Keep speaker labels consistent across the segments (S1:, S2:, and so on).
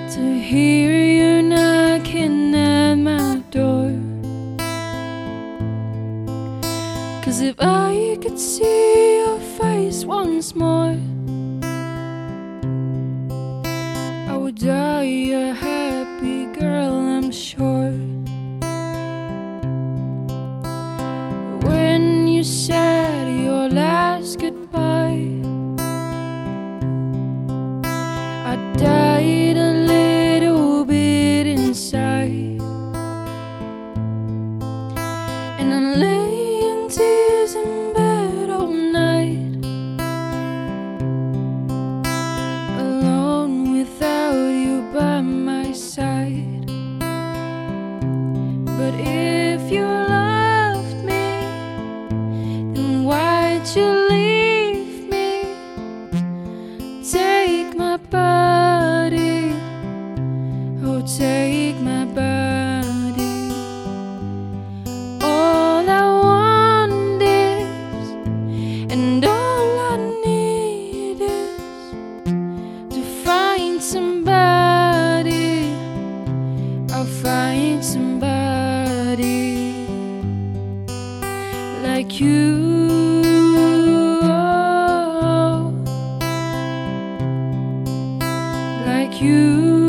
S1: to hear you knocking at my door. 'Cause if I could see your face once more, I would die a happy girl, I'm sure. When you said your last goodbye, I died a little bit inside, and I lay in tears in bed all night, alone without you by my side. But if you loved me, then why'd you leave me? Take my body, oh take my body. All I want is, and all I need is, to find somebody. I'll find somebody like you. Like you.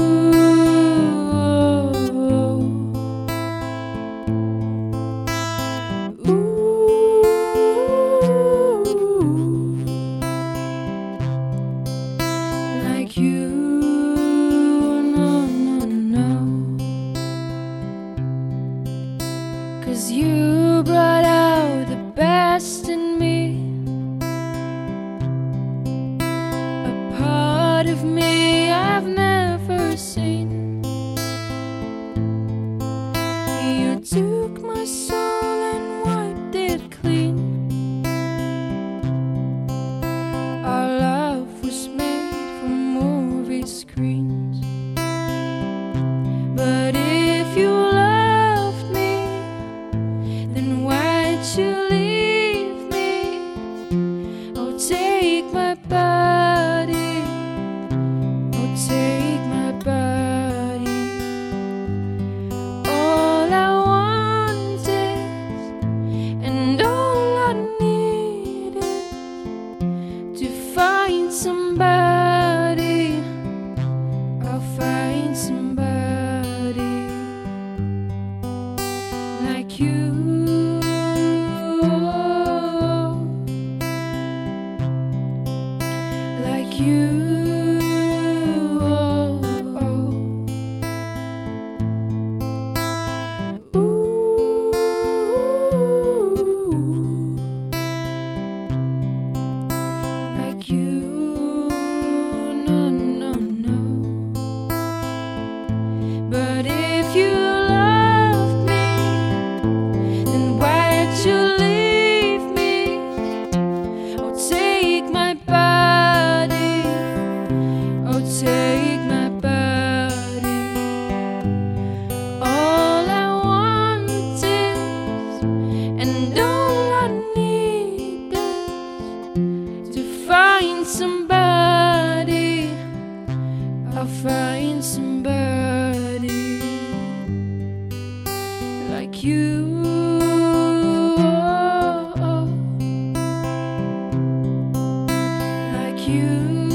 S1: Like you. No, no, no. 'Cause you brought out the best in me, a part of me I've never seen. You took my soul and wiped it clean. Our love was made for movie screens. But if you loved me, then why'd you leave me? Oh, take my body, oh, take my body. All I want is, and all I need is, to find somebody. I'll find somebody like you. Like you. Like you. No, no, no. But if you loved me, then why'd you leave me? Oh, take my body, oh, take my body. All I want is, and all I need is, to find somebody. I'll find somebody like you. Like you.